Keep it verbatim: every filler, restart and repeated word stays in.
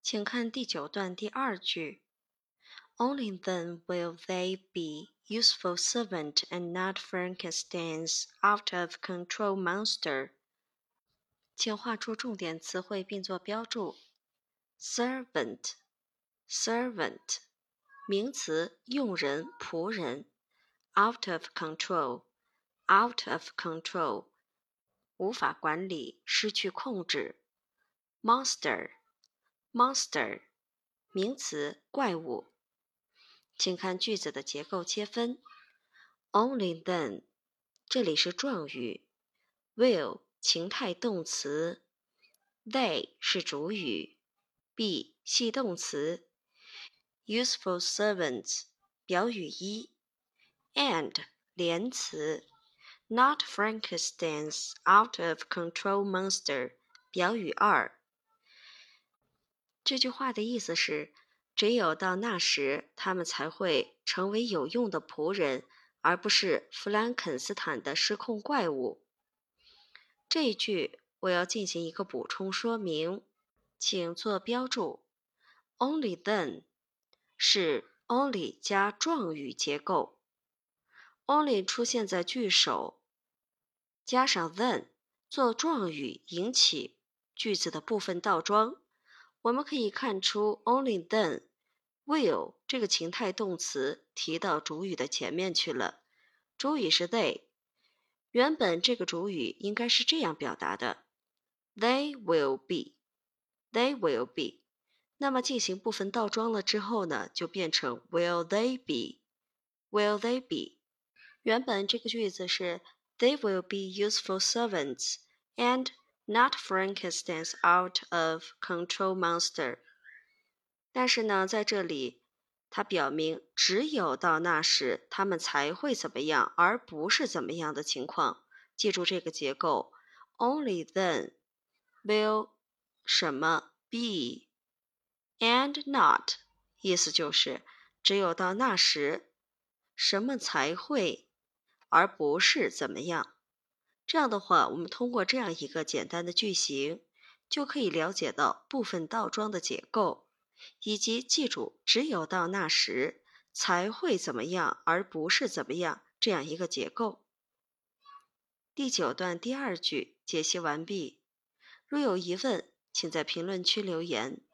请看第九段第二句 Only then will they be useful servant and not Frankenstein's out-of-control monster. 请画出重点词汇并做标注。Servant, servant, 名词，用人、仆人。Out of control, out of control, 无法管理，失去控制。Monster, monster, 名词，怪物。请看句子的结构切分。Only then, 这里是状语。Will, 情态动词。They 是主语。Be 系动词。Useful servants 表语一。And 连词。Not Frankenstein's out-of-control monster 表语二。这句话的意思是，只有到那时，他们才会成为有用的仆人，而不是弗兰肯斯坦的失控怪物。这一句我要进行一个补充说明，请做标注。Only then 是 only 加状语结构。Only 出现在句首，加上 then 做状语引起句子的部分倒装。我们可以看出 only then will 这个情态动词提到主语的前面去了，主语是 they， 原本这个主语应该是这样表达的 They will be, they will be， 那么进行部分倒装了之后呢，就变成 will they be, will they be。原本这个句子是 They will be useful servants and not Frankenstein's out-of-control monster。 但是呢，在这里它表明只有到那时他们才会怎么样，而不是怎么样的情况。记住这个结构 Only then will 什么 be and not 意思就是只有到那时什么才会，而不是怎么样。这样的话，我们通过这样一个简单的句型，就可以了解到部分倒装的结构，以及记住只有到那时才会怎么样，而不是怎么样这样一个结构。第九段第二句解析完毕。如有疑问，请在评论区留言。